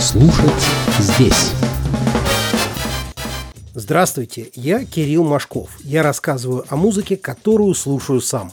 Слушать здесь. Здравствуйте, я Кирилл Машков. Я рассказываю о музыке, которую слушаю сам.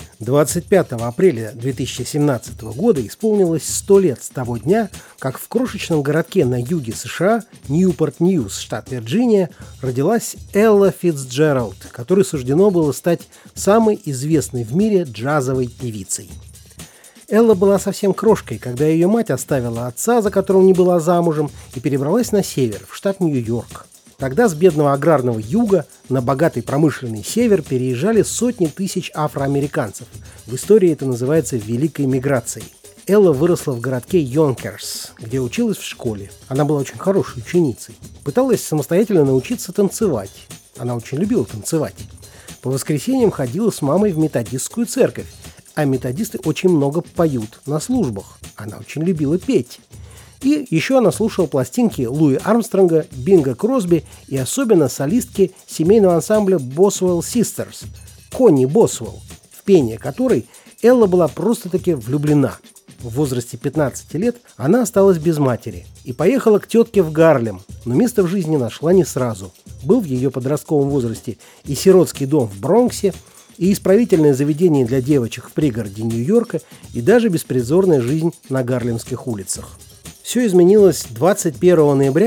25 апреля 2017 года исполнилось 100 лет с того дня, как в крошечном городке на юге США, Ньюпорт-Ньюс, штат Вирджиния, родилась Элла Фицджеральд, которой суждено было стать самой известной в мире джазовой певицей. Элла была совсем крошкой, когда ее мать оставила отца, за которым не была замужем, и перебралась на север, в штат Нью-Йорк. Тогда с бедного аграрного юга на богатый промышленный север переезжали сотни тысяч афроамериканцев. В истории это называется Великой миграцией. Элла выросла в городке Йонкерс, где училась в школе. Она была очень хорошей ученицей. Пыталась самостоятельно научиться танцевать. Она очень любила танцевать. По воскресеньям ходила с мамой в методистскую церковь. А методисты очень много поют на службах. Она очень любила петь. И еще она слушала пластинки Луи Армстронга, Бинга Кросби и особенно солистки семейного ансамбля Boswell Sisters, Конни Босвелл, в пение которой Элла была просто-таки влюблена. В возрасте 15 лет она осталась без матери и поехала к тетке в Гарлем, но место в жизни нашла не сразу. Был в ее подростковом возрасте и сиротский дом в Бронксе, и исправительное заведение для девочек в пригороде Нью-Йорка, и даже беспризорная жизнь на гарлемских улицах. Все изменилось 21 ноября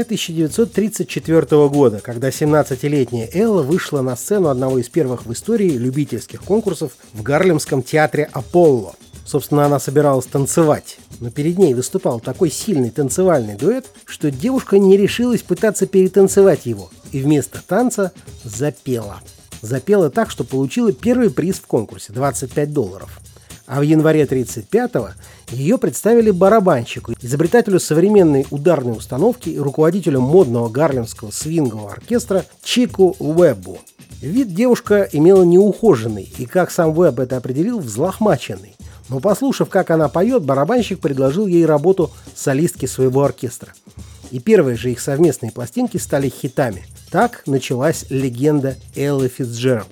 1934 года, когда 17-летняя Элла вышла на сцену одного из первых в истории любительских конкурсов в Гарлемском театре «Аполло». Собственно, она собиралась танцевать, но перед ней выступал такой сильный танцевальный дуэт, что девушка не решилась пытаться перетанцевать его, и вместо танца запела. Запела так, что получила первый приз в конкурсе – $25. А в январе 1935-го ее представили барабанщику, изобретателю современной ударной установки и руководителю модного гарлемского свингового оркестра Чику Уэббу. Вид девушка имела неухоженный и, как сам Уэбб это определил, взлохмаченный. Но послушав, как она поет, барабанщик предложил ей работу солистки своего оркестра. И первые же их совместные пластинки стали хитами. Так началась легенда Эллы Фицджеральд.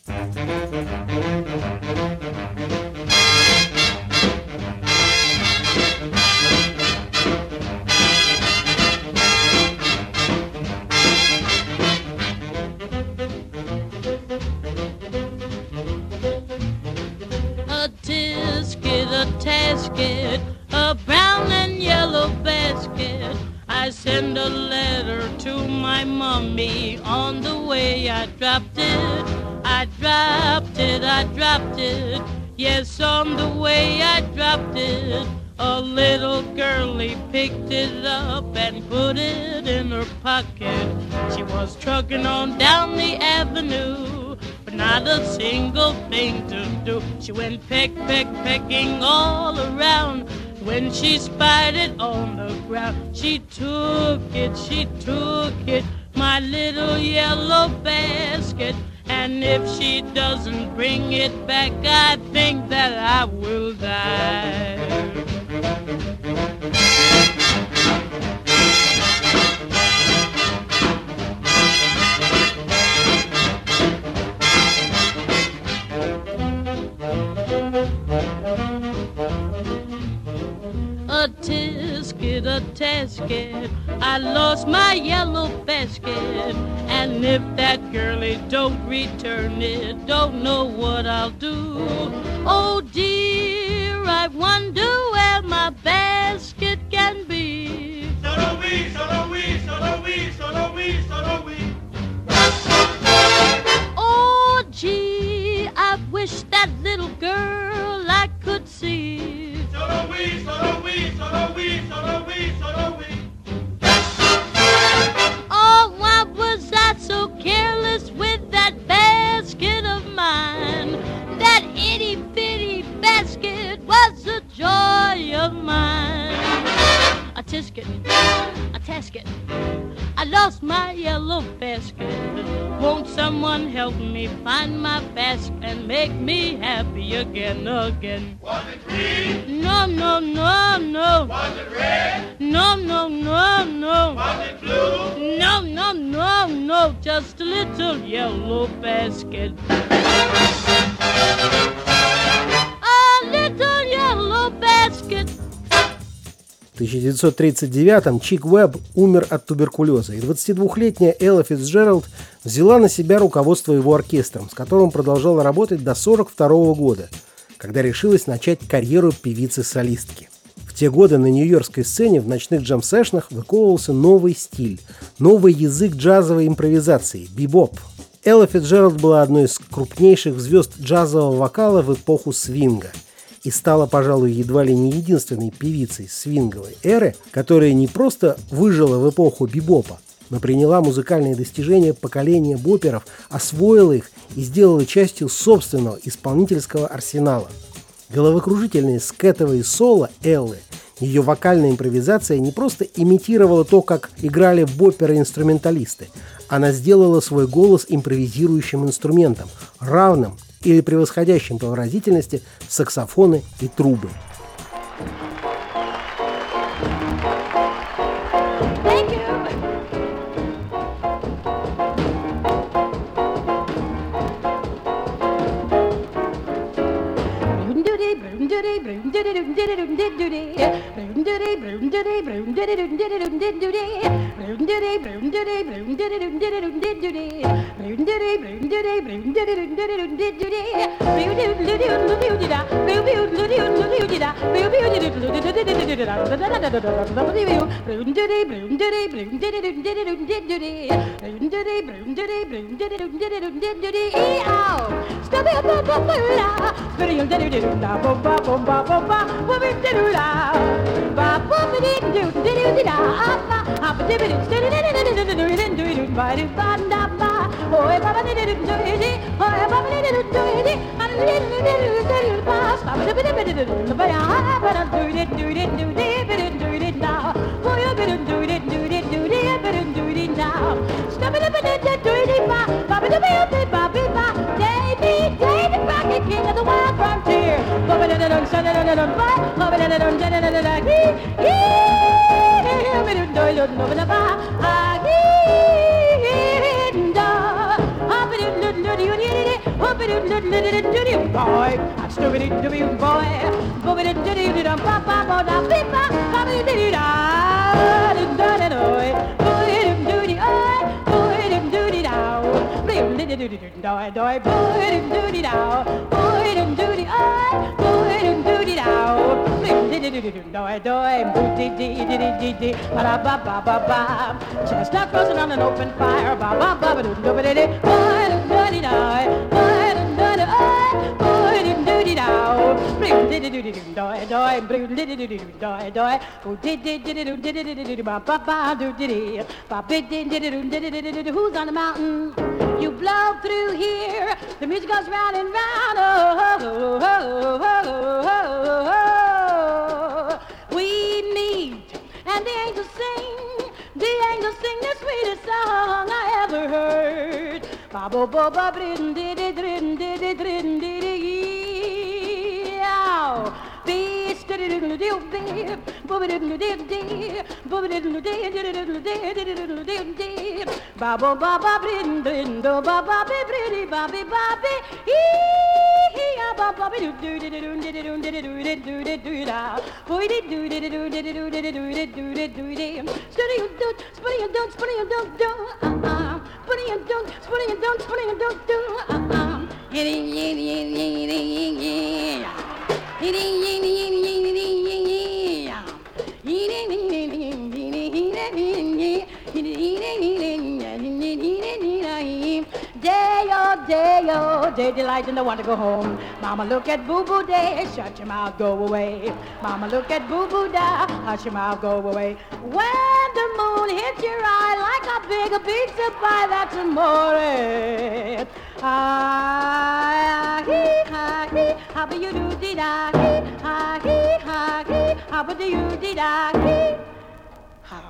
A tasket, a brown and yellow basket. I send a letter to my mommy. On the way I dropped it, I dropped it, I dropped it. Yes, on the way I dropped it. A little girlie picked it up and put it in her pocket. She was trucking on down the avenue, but not a single thing to do. She went pecking all around. When she spied it on the ground, she took it, my little yellow basket. And if she doesn't bring it back, I think that I will die. A tasket, I lost my yellow basket. And if that girlie don't return it, don't know what I'll do. Oh dear, I wonder where my basket can be. Solo we, solo we, solo we, solo we, solo we. Oh gee, I wish that little girl I could see. Solo we, solo we, solo we, solo we, solo we. Oh, why was I so careless with that basket of mine? That itty-bitty basket was the joy of mine. A tisket, a tasket, I lost my yellow basket. Won't someone help me find my basket and make me happy again? Was it green? No, no, no, no. Was it red? No, no, no, no. Was it blue? No, no, no, no. Just a little yellow basket. A little yellow basket. В 1939-м Чик Уэбб умер от туберкулеза, и 22-летняя Элла Фицджеральд взяла на себя руководство его оркестром, с которым продолжала работать до 1942 года, когда решилась начать карьеру певицы-солистки. В те годы на нью-йоркской сцене в ночных джем-сэшнах выковывался новый стиль, новый язык джазовой импровизации – бибоп. Элла Фицджеральд была одной из крупнейших звезд джазового вокала в эпоху свинга и стала, пожалуй, едва ли не единственной певицей свинговой эры, которая не просто выжила в эпоху бибопа, но приняла музыкальные достижения поколения боперов, освоила их и сделала частью собственного исполнительского арсенала. Головокружительные скетовые соло Эллы, ее вокальная импровизация не просто имитировала то, как играли боперы-инструменталисты, она сделала свой голос импровизирующим инструментом, равным или превосходящим по выразительности саксофоны и трубы. Chestnut roasting on an open fire. Who's on the mountain? You blow through here. The music goes round and round. Oh, oh, oh, oh, oh. We meet and the angels sing. The angels sing the sweetest song I ever heard. Ba bo bo ba brin di di drin di di drin di di yow. Be steady diddle diddle dee, booby diddle diddle dee, booby diddle dee, diddle dee, diddle dee. Ba bo ba ba brin drin do ba ba be briddy ba be hee ya ba ba be do do do do do do do do do do da. Boy do do do do do do do do do do. Steady you don't, spinning you don't, spinning you don't do. Spinning you don't, spinning you don't, spinning you don't do. Day delight and I want to go home. Mama, look at Boo Boo Day, shut your mouth, go away. Mama, look at Boo Boo Da, hush your mouth, go away. When the moon hits your eye like a big pizza pie, that's amore. Ah, hee, ha, hee, how do you do, dee da, hee, ha, hee, ha, hee, how do you, dee da, hee, ha.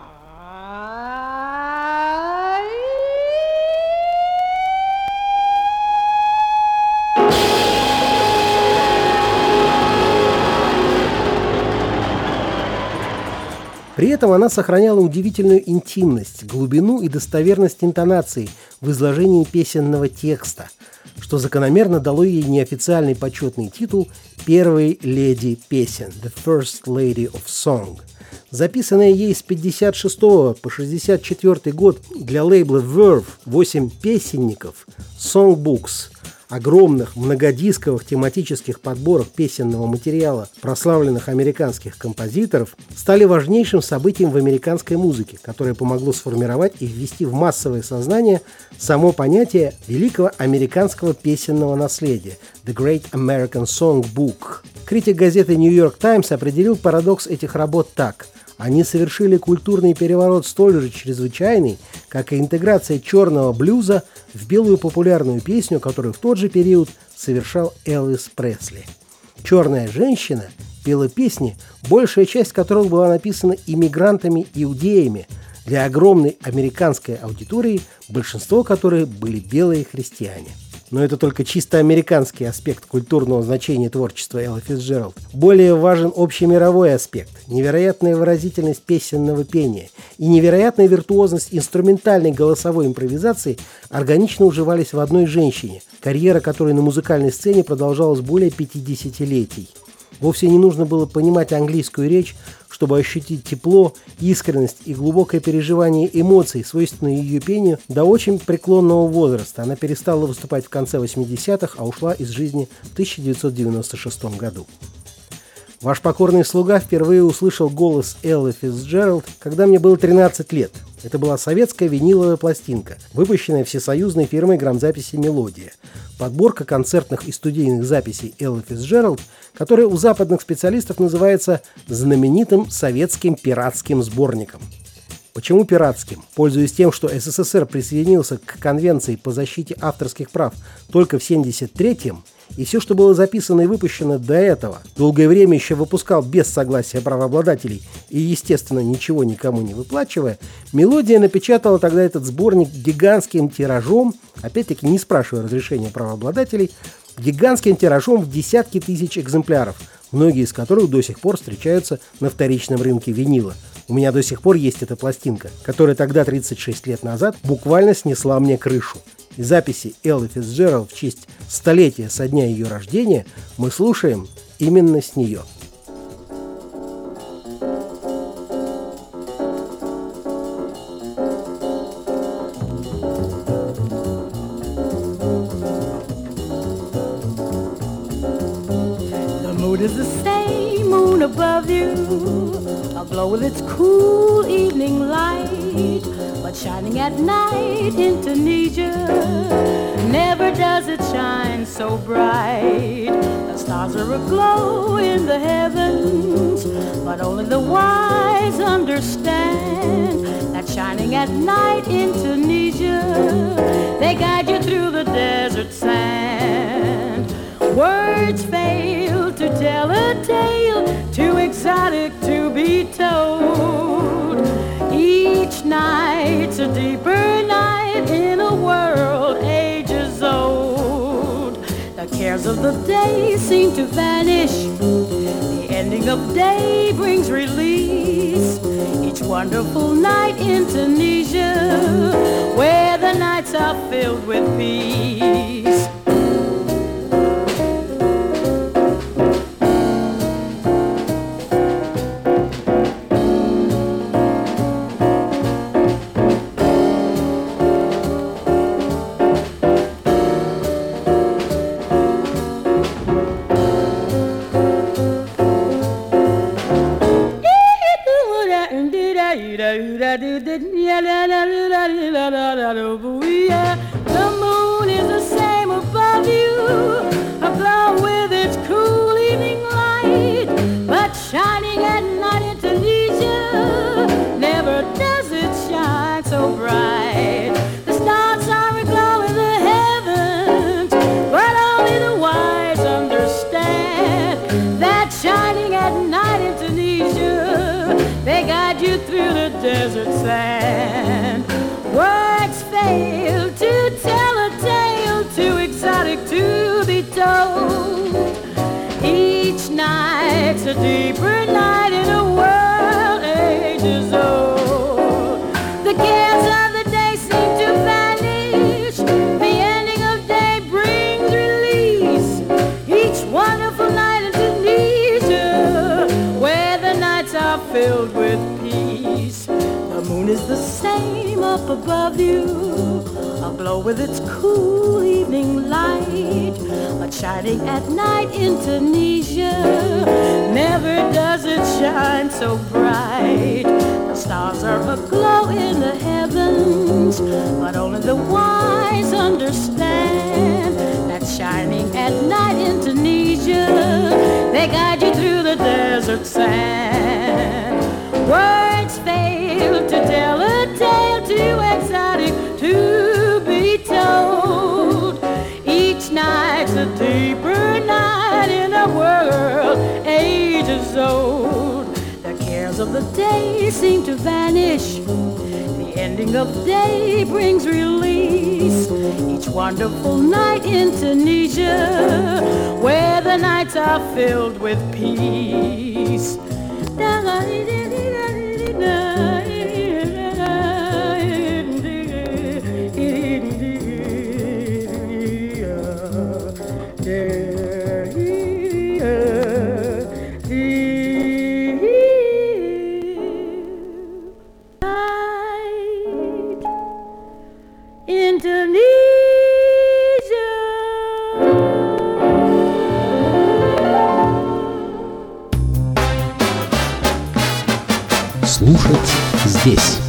При этом она сохраняла удивительную интимность, глубину и достоверность интонаций в изложении песенного текста, что закономерно дало ей неофициальный почетный титул «Первой леди песен» – «The First Lady of Song». Записанная ей с 56 по 64 год для лейбла Verve 8 песенников, songbooks, огромных многодисковых тематических подборок песенного материала прославленных американских композиторов стали важнейшим событием в американской музыке, которое помогло сформировать и ввести в массовое сознание само понятие великого американского песенного наследия – The Great American Songbook. Критик газеты New York Times определил парадокс этих работ так – они совершили культурный переворот столь же чрезвычайный, как и интеграция черного блюза в белую популярную песню, которую в тот же период совершал Элвис Пресли. «Черная женщина» пела песни, большая часть которых была написана иммигрантами-иудеями для огромной американской аудитории, большинство которых были белые христиане. Но это только чисто американский аспект культурного значения творчества Эллы Фицджеральд. Более важен общемировой аспект – невероятная выразительность песенного пения и невероятная виртуозность инструментальной голосовой импровизации органично уживались в одной женщине, карьера которой на музыкальной сцене продолжалась более 50-летий. Вовсе не нужно было понимать английскую речь, чтобы ощутить тепло, искренность и глубокое переживание эмоций, свойственные ее пению, до очень преклонного возраста. Она перестала выступать в конце 80-х, а ушла из жизни в 1996 году. Ваш покорный слуга впервые услышал голос Эллы Фицджеральд, когда мне было 13 лет. Это была советская виниловая пластинка, выпущенная всесоюзной фирмой грамзаписи «Мелодия». Подборка концертных и студийных записей Эллы Фицджеральд, которая у западных специалистов называется знаменитым советским пиратским сборником. Почему пиратским? Пользуясь тем, что СССР присоединился к Конвенции по защите авторских прав только в 1973-м, и все, что было записано и выпущено до этого, долгое время еще выпускал без согласия правообладателей и, естественно, ничего никому не выплачивая, «Мелодия» напечатала тогда этот сборник гигантским тиражом, опять-таки не спрашивая разрешения правообладателей, гигантским тиражом в десятки тысяч экземпляров, многие из которых до сих пор встречаются на вторичном рынке винила. У меня до сих пор есть эта пластинка, которая тогда, 36 лет назад, буквально снесла мне крышу. И записи Эллы Фицджеральд в честь столетия со дня ее рождения мы слушаем именно с нее. The mood is the same, moon above you, aglow with its cool evening light, but shining at night in Tunisia, never does it shine so bright. The stars are aglow in the heavens, but only the wise understand that shining at night in Tunisia, they guide you through the desert sand. Words fail to tell a tale too exotic to be told. Each night's a deeper night in a world ages old. The cares of the day seem to vanish. The ending of day brings release. Each wonderful night in Tunisia, where the nights are filled with peace. The moon is the same above you, aglow with its cool evening light, but shining at night in Tunisia, never does it shine so bright. The stars are aglow in the heavens, but only the wise understand that shining at night in Tunisia, they guide you through the desert sand. Words fail to tell a tale too exotic to be told. Each night's a deeper night in a world ages old. The cares of the day seem to vanish. The ending of day brings release. Each wonderful night in Tunisia, where the nights are filled with is the same up above you, aglow with its cool evening light, but shining at night in Tunisia. Never does it shine so bright. The stars are aglow in the heavens, but only the wise understand that shining at night in Tunisia, they guide you through the desert sand. Words fail to tell a tale too exotic to be told. Each night's a deeper night in a world ages old. The cares of the day seem to vanish. The ending of day brings release. Each wonderful night in Tunisia, where the nights are filled with peace. Indonesia. Слушать здесь.